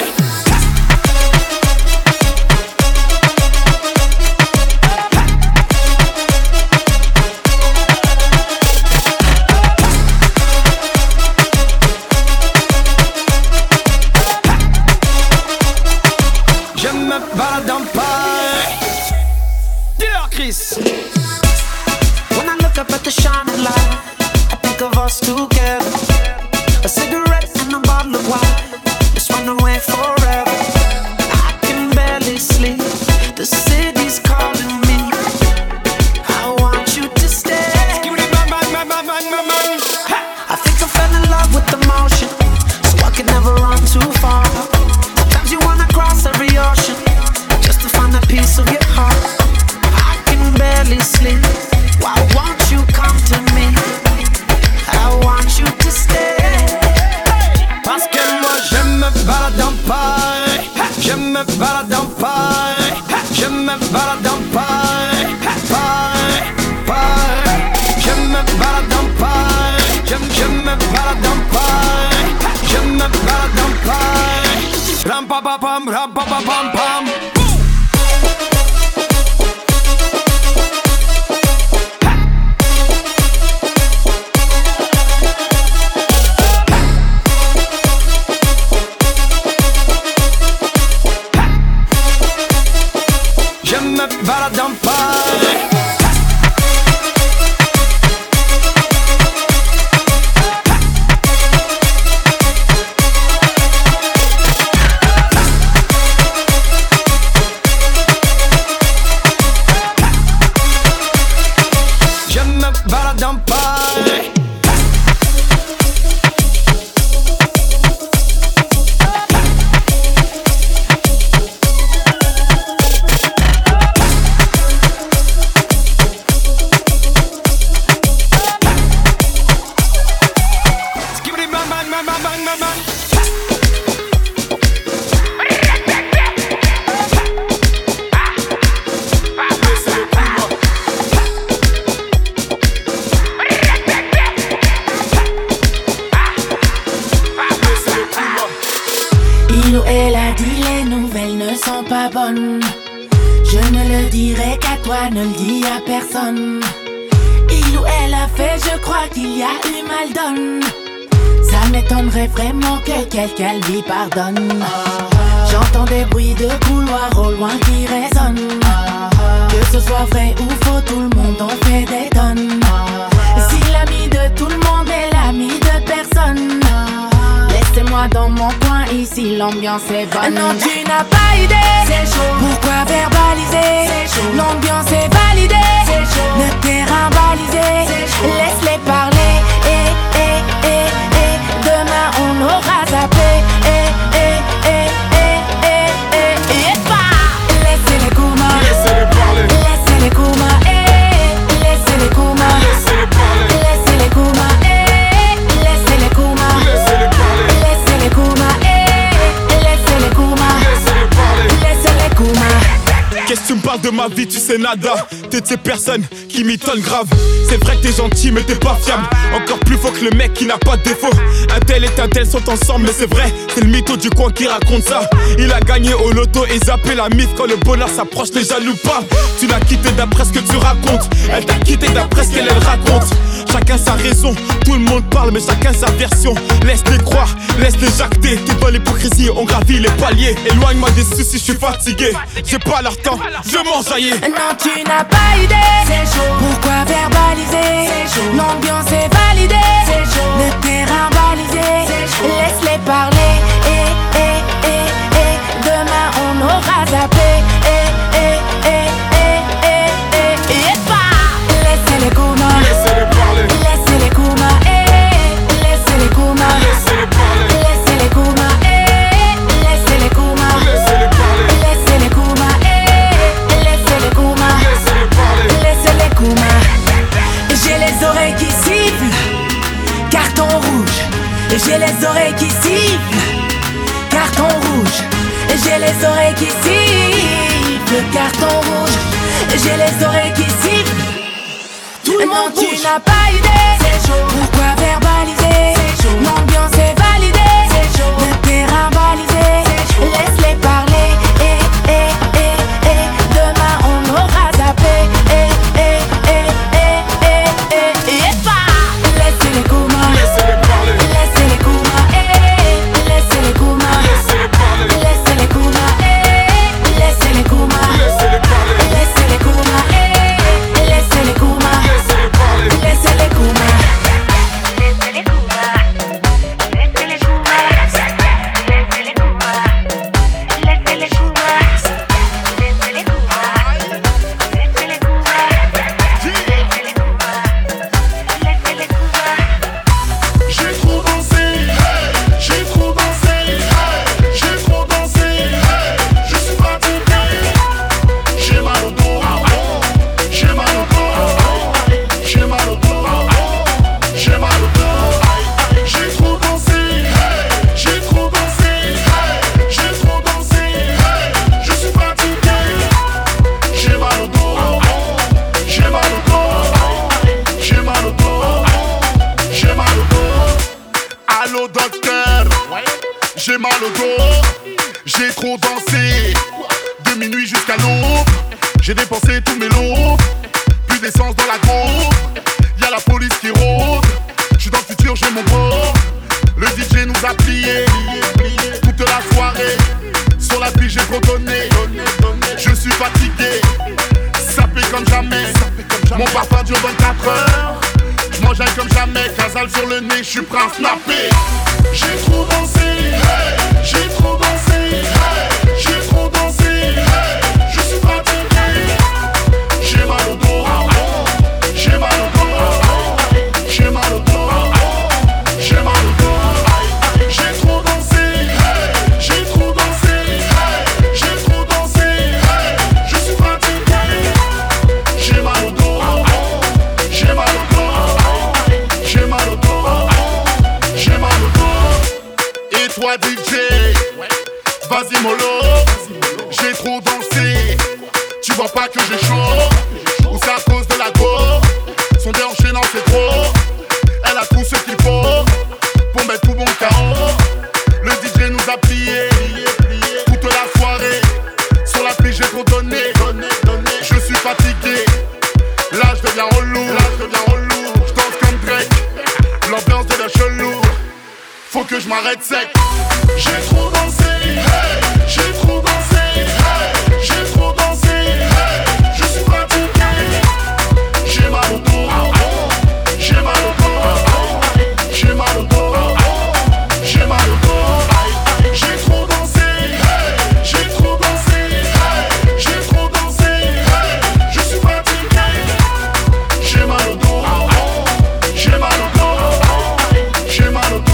pie. Ram pa pa pam, ram pa pa pam pam. Je me balade en paille. Je me balade en paille. Skibbity bang bang bang bang bang bang bang. Il ou elle a dit les nouvelles ne sont pas bonnes. Je ne le dirai qu'à toi, ne le dis à personne. Il ou elle a fait, je crois qu'il y a eu mal donne. Ça m'étonnerait vraiment que quelqu'un lui pardonne. J'entends des bruits de couloir au loin qui résonnent. Que ce soit vrai ou faux, tout le monde en fait des tonnes. Si l'ami de tout le monde est l'ami de personne, laissez-moi dans mon coin, ici l'ambiance est bonne. Non, tu n'as pas idée, c'est chaud. Pourquoi verbaliser? L'ambiance est validée, c'est chaud. Le terrain balisé, laisse-les parler. Demain on aura zappé. Laissez-les Kuma, Laissez-les parler. laissez-les Kuma, laissez-les Kuma, Laissez-les parler. laissez-les Kuma, laissez-les Kuma, Laissez-les parler. laissez-les Kuma, laissez-les Kuma, Laissez-les parler. laissez-les Kuma. Qu'est-ce que tu me parles de ma vie, tu sais nada. T'es de ces personnes qui m'étonnent grave. C'est vrai que t'es gentil mais t'es pas fiable. Encore plus faux que le mec qui n'a pas de défaut. Un tel et un tel sont ensemble mais c'est vrai. C'est le mytho du coin qui raconte ça. Il a gagné au loto et zappé la mif. Quand le bonheur s'approche les jaloux pas. Tu l'as quitté d'après ce que tu racontes. Elle t'a quitté d'après ce qu'elle raconte. Chacun sa raison, tout le monde parle mais chacun sa version. Laisse-les croire, laisse-les jacter. T'es dans l'hypocrisie, on gravit les paliers. Éloigne-moi des soucis, je suis fatigué. J'ai pas leur temps, je m'enjaillis. Non, tu n'as pas idée, c'est chaud. Pourquoi verbaliser? L'ambiance est validée, c'est chaud. Le terrain balisé, laisse-les parler. Demain on aura zappé. Laissez-les Kuma, Laissez-les parler. laissez-les Kuma, laissez-les Kuma, Laissez-les parler. laissez-les Kuma, laissez-les Kuma, Laissez-les parler. laissez-les Kuma, laissez-les Kuma, Laissez-les parler. laissez-les Kuma. J'ai les oreilles qui sifflent, carton rouge. J'ai les oreilles qui sifflent, carton rouge. J'ai les oreilles qui sifflent, carton rouge. J'ai les oreilles qui sifflent. Tout le monde tu n'as pas idée, c'est chaud. Pourquoi verbaliser? L'ambiance est validée, c'est chaud. Le terrain balisé, laisse-les parler. Demain on aura zappé. Laissez-les Kuma, Laissez-les parler. laissez-les Kuma, laissez-les Kuma, Laissez-les parler. laissez-les Kuma, laissez-les Kuma, Laissez-les parler. laissez-les Kuma, laissez-les Kuma, Laissez-les parler. laissez-les Kuma. J'ai mal au dos, j'ai trop dansé. De minuit jusqu'à l'aube, j'ai dépensé tous mes lots. Plus d'essence dans la gauche, y'a la police qui rôde. J'suis dans le futur, j'ai mon bord. Le DJ nous a plié toute la soirée. Sur la piste, j'ai trop donné. Je suis fatigué, sapé comme jamais. Mon parfum dure 24 heures. J'mange comme jamais, casal sur le nez, j'suis prêt à snapper. J'ai trop dansé, hey, j'ai trop dansé, hey, j'ai trop dansé, hey, je suis fatigué. J'ai mal au dos, j'ai mal au dos, j'ai mal au dos, j'ai mal au dos. J'ai trop dansé, hey, j'ai trop dansé, hey, j'ai trop dansé, hey, je suis fatigué. J'ai mal au dos, j'ai mal au dos, j'ai mal au dos, j'ai mal au dos. Et toi DJ, vas-y mollo, j'ai trop dansé. Tu vois pas que j'ai chaud, ou c'est à cause de la go. Son déhanché non c'est trop. Elle a tout ce qu'il faut pour mettre tout bon KO. Le DJ nous a plié toute la soirée. Sur la piste j'ai trop donné. Je suis fatigué, là je deviens relou. Je danse comme Drake, l'ambiance devient chelou. Faut que je m'arrête sec. J'ai trop dansé, hey, j'ai trop dansé, hey, j'ai trop dansé, hey, je suis fatigué. J'ai mal au dos, j'ai mal au dos, j'ai mal au dos, j'ai mal au dos. J'ai trop dansé, hey, j'ai trop dansé, hey, j'ai trop dansé, hey, je suis fatigué. J'ai mal au dos, j'ai mal au dos, j'ai mal au dos.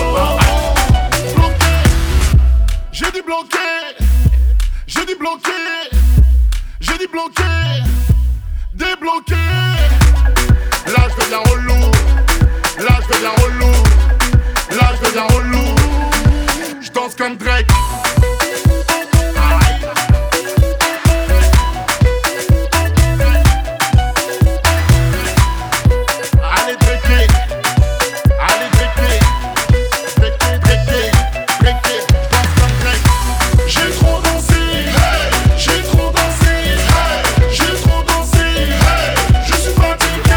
J'ai dit bloqué, j'ai dit bloqué, j'ai dit bloqué, débloqué. Là je deviens relou, là je deviens relou, là je deviens relou. Je danse comme Drake. Allez Drake, allez Drake, j'ai trop dansé, hey, j'ai trop dansé, hey, j'ai trop dansé, hey, je suis fatigué.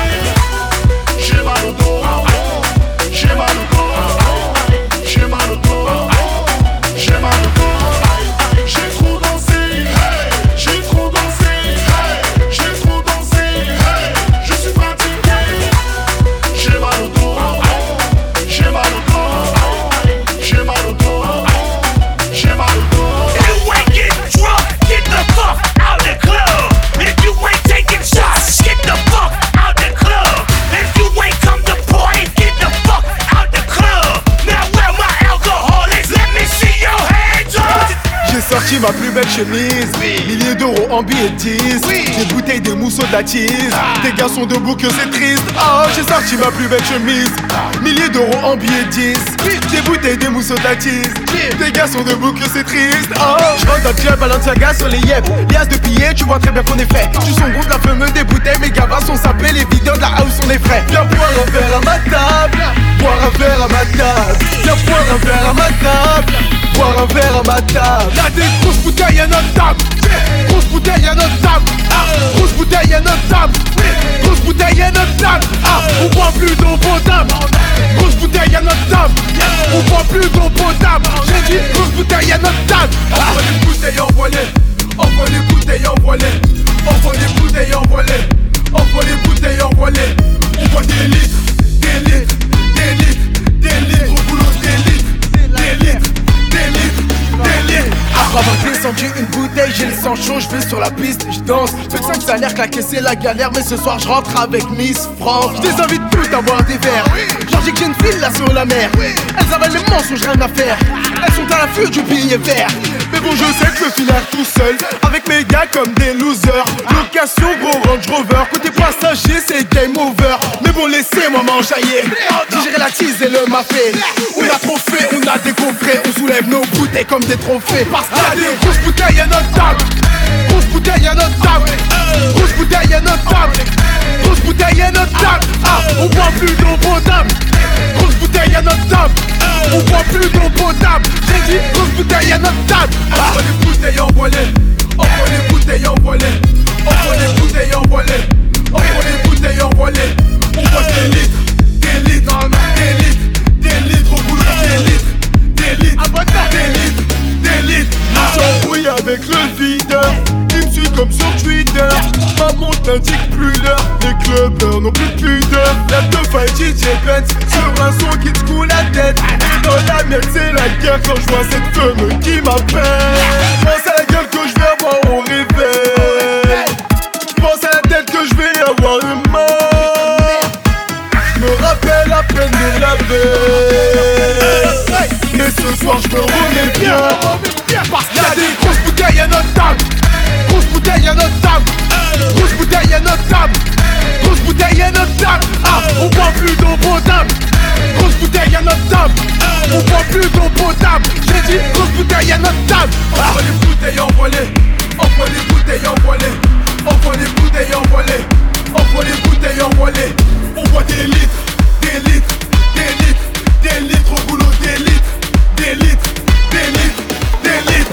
J'ai mal au dos, j'ai mal au dos, j'ai mal au dos, j'ai mal au dos. J'ai trop dansé, hey, j'ai trop dansé, hey, j'ai trop dansé, hey, je suis fatigué. J'ai mal au dos, j'ai mal au dos, j'ai mal au dos, j'ai mal au dos. You ain't getting drunk, get the fuck out the club. If you ain't taking shots, get the fuck out the club. If you ain't come to party, get the fuck out the club. Now where my alcohol is, let me see your hands up. J'ai sorti ma plus belle chemise, milliers d'euros en billets de 10, des bouteilles, des mousseaux, de la tease. Des gars sont debout que c'est triste. Oh, j'ai sorti ma plus belle chemise, milliers d'euros en billets de 10, des bouteilles, des mousseaux, de la tease. Des gars sont debout que c'est triste. Oh, je rentre dans le club Balenciaga sur les yep. Lias de billets, tu vois très bien qu'on est fait. Tu son groupe, la fameuse des bouteilles, mes gars sont sapés, les vidéos de la house sont les frais. Viens boire un verre à ma table, boire un verre à ma table. Viens boire un verre à ma table, boire un verre à ma table. Y'a des grosses bouteilles à notre table, grosse bouteille à notre table, grosse bouteille à notre table, grosse bouteille à notre table. On boit plus d'eau potable, grosse bouteille à notre table, on boit plus d'eau potable. J'ai dit grosse bouteille à notre table. Envoie les bouteilles envoie-les, envoie les bouteilles envoie-les, envoie les bouteilles envoie-les, envoie les bouteilles envoie-les. On boit des litres, des litres, des litres, des litres, au boulot des litres, des litres, des litres, des litres. Après avoir descendu une bouteille, j'ai le sang chaud, je vais sur la piste, je danse. Peu de 5 salaires, claquer c'est la galère, mais ce soir je rentre avec Miss France. Je les invite toutes à boire des verres, genre j'ai que j'ai une file là sur la mer. Elles avalent les mensonges, rien à faire, elles sont à l'affût du billet vert. Mais bon je sais que je peux finir tout seul, avec mes gars comme des losers. Location gros Range Rover, côté passager c'est game over. Mais bon laissez-moi m'enjailler, digérer la tease et le mafé. On a trop fait, on a décoffré, on soulève nos bouteilles comme des trophées. Parce qu'il y a des grosses bouteilles à notre table, grosse bouteille à notre table, grosse bouteille à notre table, grosse bouteille à notre table. On boit plus d'eau potable, grosse bouteille à notre table, on boit plus d'eau potable. J'ai dit grosse à notre table. Envoie les bouteilles envolées. Envoie les bouteilles envolées. Envoie les bouteilles envolées. Envoie les bouteilles envolées. On voit des litres, des litres, des litres au boulot, des litres, des litres, des litres. J'embrouille avec le videur, il me suit comme sur Twitter. Ma montre n'indique plus l'heure, les clubbers n'ont plus de pudeur. La teuf à DJ Benz sur un son qui te coule la tête. Et dans la mienne c'est la guerre quand je vois cette femme qui m'appelle. Pense à la gueule que je vais avoir au réveil. Pense à la tête que je vais avoir une mort. Je me rappelle à peine de la veille. Mais ce soir je me remets bien. Parce qu'il y a des grosses bouteilles à notre table. Grosse bouteille à notre table. Grosse bouteille à notre table. Grosse bouteille à notre table. Ah, on boit plus d'eau potable. Grosse bouteille à notre table. On boit plus d'eau potable. J'ai dit grosse bouteille à notre table. Envoie les bouteilles envolées. Envoie les bouteilles envolées. Envoie les bouteilles envolées. Envoie les bouteilles envolées. On boit des litres, des litres, des litres, des litres au boulot, des litres, des litres, des litres, des litres.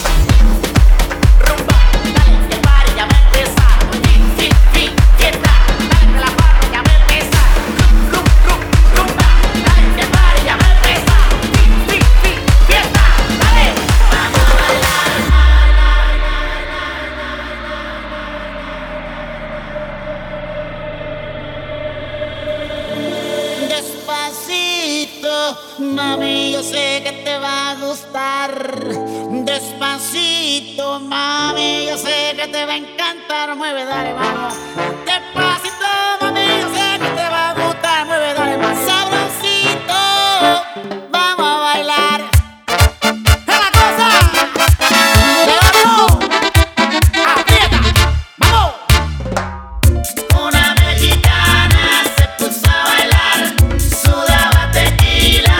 Mami, yo sé que te va a gustar. Despacito, mami, yo sé que te va a encantar. Mueve, dale, vamos. Despacito, mami, yo sé que te va a gustar. Mueve, dale, más sabrosito. Vamos a bailar. ¡Es la cosa! ¡Levantó! ¡Aprieta! ¡Vamos! Una mexicana se puso a bailar. Sudaba tequila.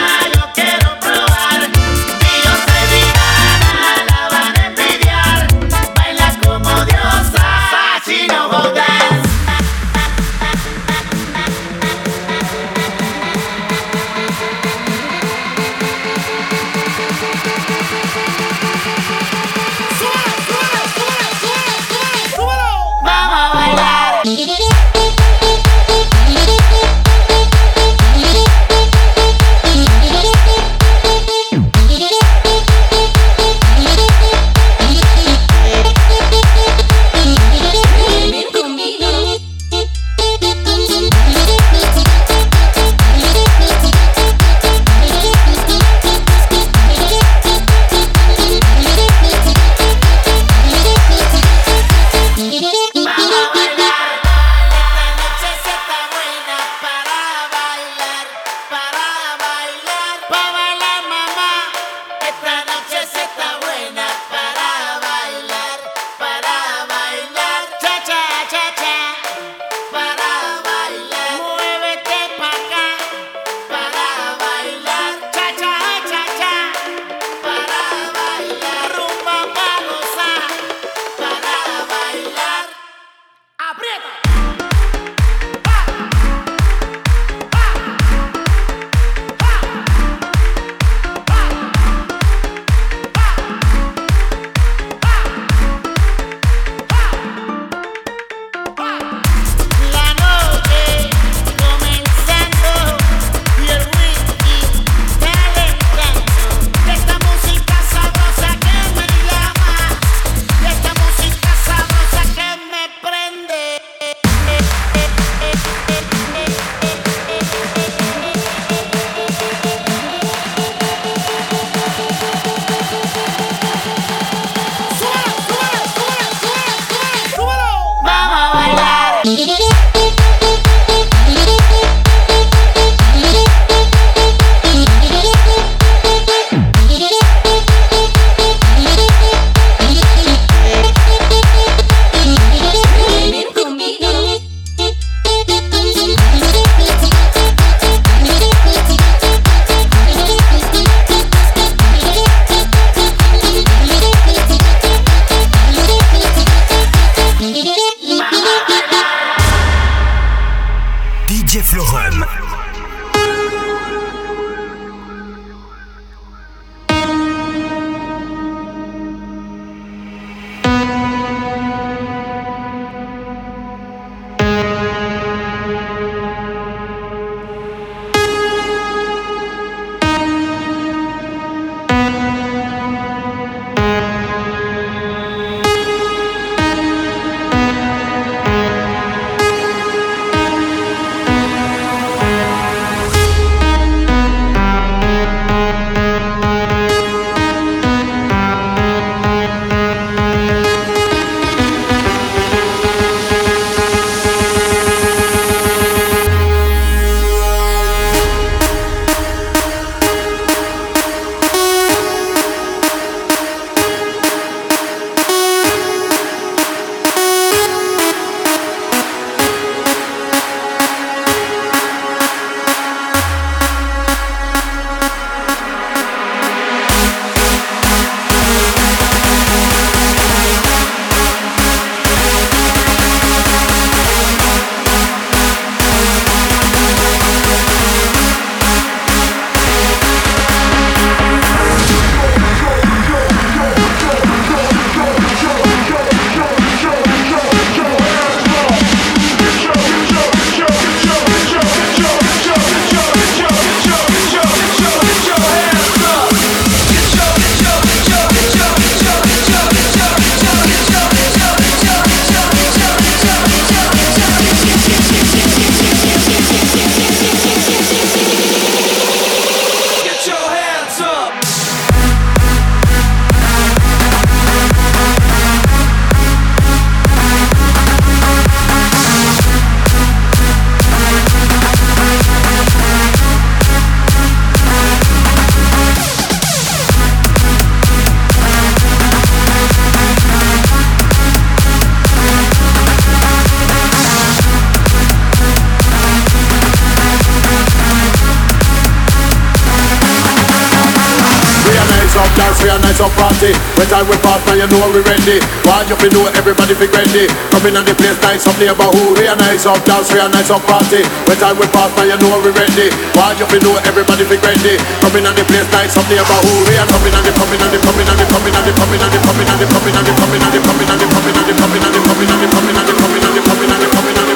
we a nice up party. When time we pass, now you know we ready. Want you to know everybody be ready. Coming on the place, nice up neighborhood. We a nice up dance, we a nice up party. When time we pass, now you know we ready. Want you to know everybody be ready. Coming on the place, nice up neighborhood. We are coming on the coming on the coming on the coming on the coming on the coming on the coming on the coming on the coming on the coming on the coming on the coming on the coming on the coming on the coming on the coming on the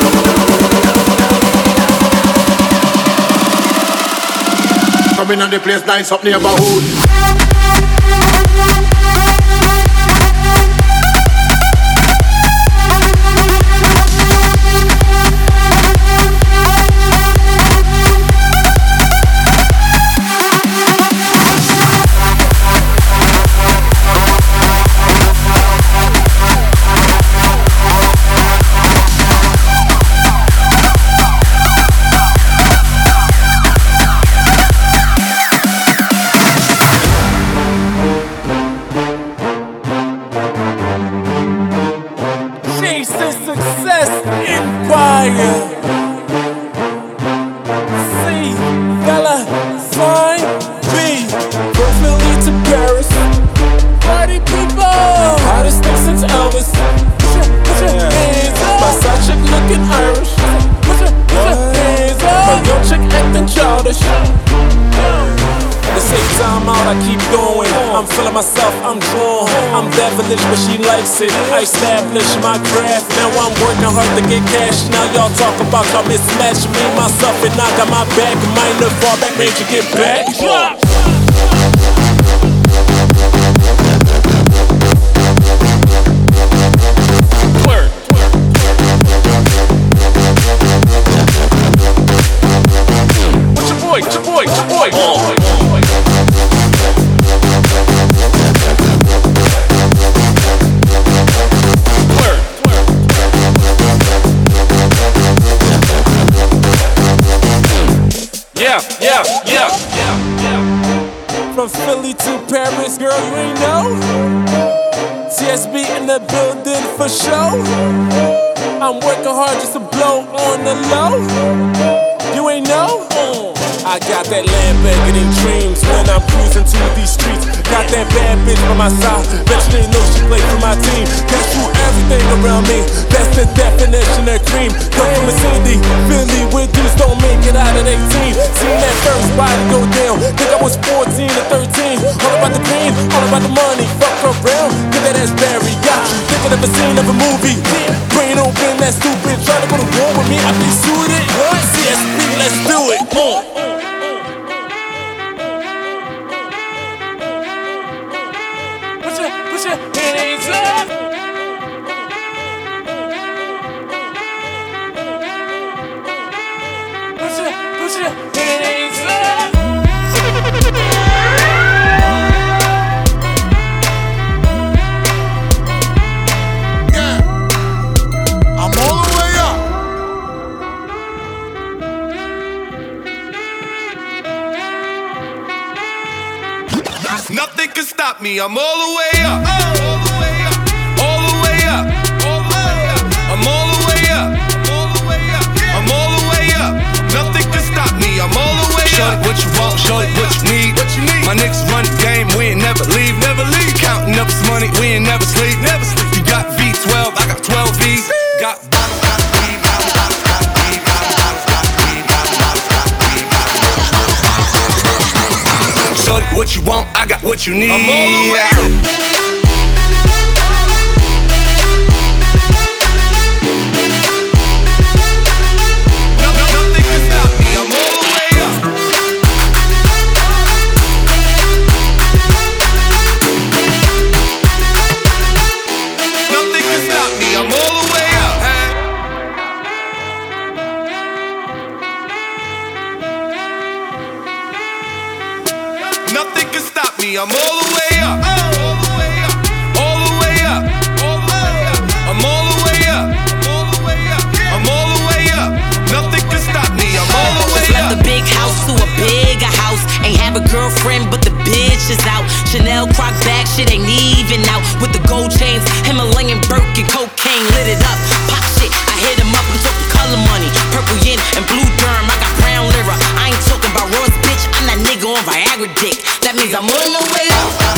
coming on the place, nice up neighborhood. I established my craft, now I'm working hard to get cash. Now y'all talk about y'all mismatch me, myself, and I got my back. Minor fall back, made you get back. Drop. Word. What's your boy? What's your boy? What's your boy? Yeah. From Philly to Paris, girl, you ain't know. TSB in the building for show. I'm working hard just to blow on the low. You ain't know? I got that Lamborghini dreams when I'm cruising to these streets. Got that bad bitch by my side, bet you didn't know she played for my team. Gets through everything around me, that's the definition of cream. Come from a Cindy, Philly with dudes don't make it out at 18. Seen that first body go down, think I was 14 or 13. All about the green, all about the money, fuck around, get that ass Barry. Got you thinking of a scene of a movie. Brain open, that stupid, try to go to war with me, I be suited. CSB, let's do it. Put your hands up. Put your hands up. Yeah, I'm all the way up. Nothing can stop me. I'm all the way up. All the way up. All the way up. All the way up. I'm all the way up. All the way up. I'm all the way up. Nothing can stop me. I'm all the way up. Show it what you want. Show it what you need. My niggas run the game. We ain't never leave. Never leave. Counting up this money. We ain't never sleep. Never sleep. You got V12. I got 12 V's. Got what you want, I got what you need. I'm all the way up. Nothing can stop me. I'm all the way up. Nothing can stop me. I'm all the way up. Nothing can stop me. I'm all the way up. All the way up. All the way up. All the way up. I'm all the way up. All the way up. I'm all the way up. Nothing can stop me. I'm all the way up. Just left the big house to a bigger house. Ain't have a girlfriend, but the bitch is out. Chanel croc bag, shit ain't even out. With the gold chains, Himalayan Birkin, cocaine lit it up. Pop shit, I hit him up. I'm talking color money, purple yin and blue derm. I got brown lira. I ain't talking about Ross, bitch. I'm that nigga on Viagra dick. That means I'm on the way up.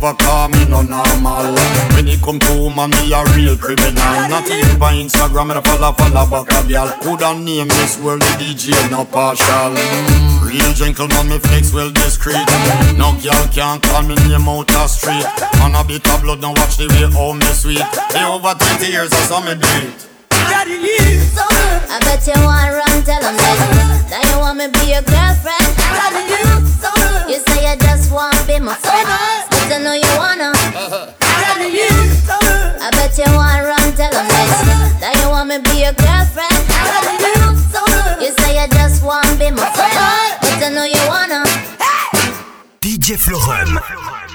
over, call me no normal. When it come to woman, me a real criminal. Not even by Instagram, me a follow back a girl. Coulda name this world the DJ, no partial. Real gentleman, me flex well discreet. No girl can't call me name out the street. On a bit of blood, now watch the way how me sweet. They over 20 years, I saw me do it. I bet you want run, tell them that you want me be your girlfriend. You say you just want be my friend, but I know you wanna. I bet you want run, tell them that you want me be your girlfriend. You say you just want be my friend, but I know you wanna. DJ Florum.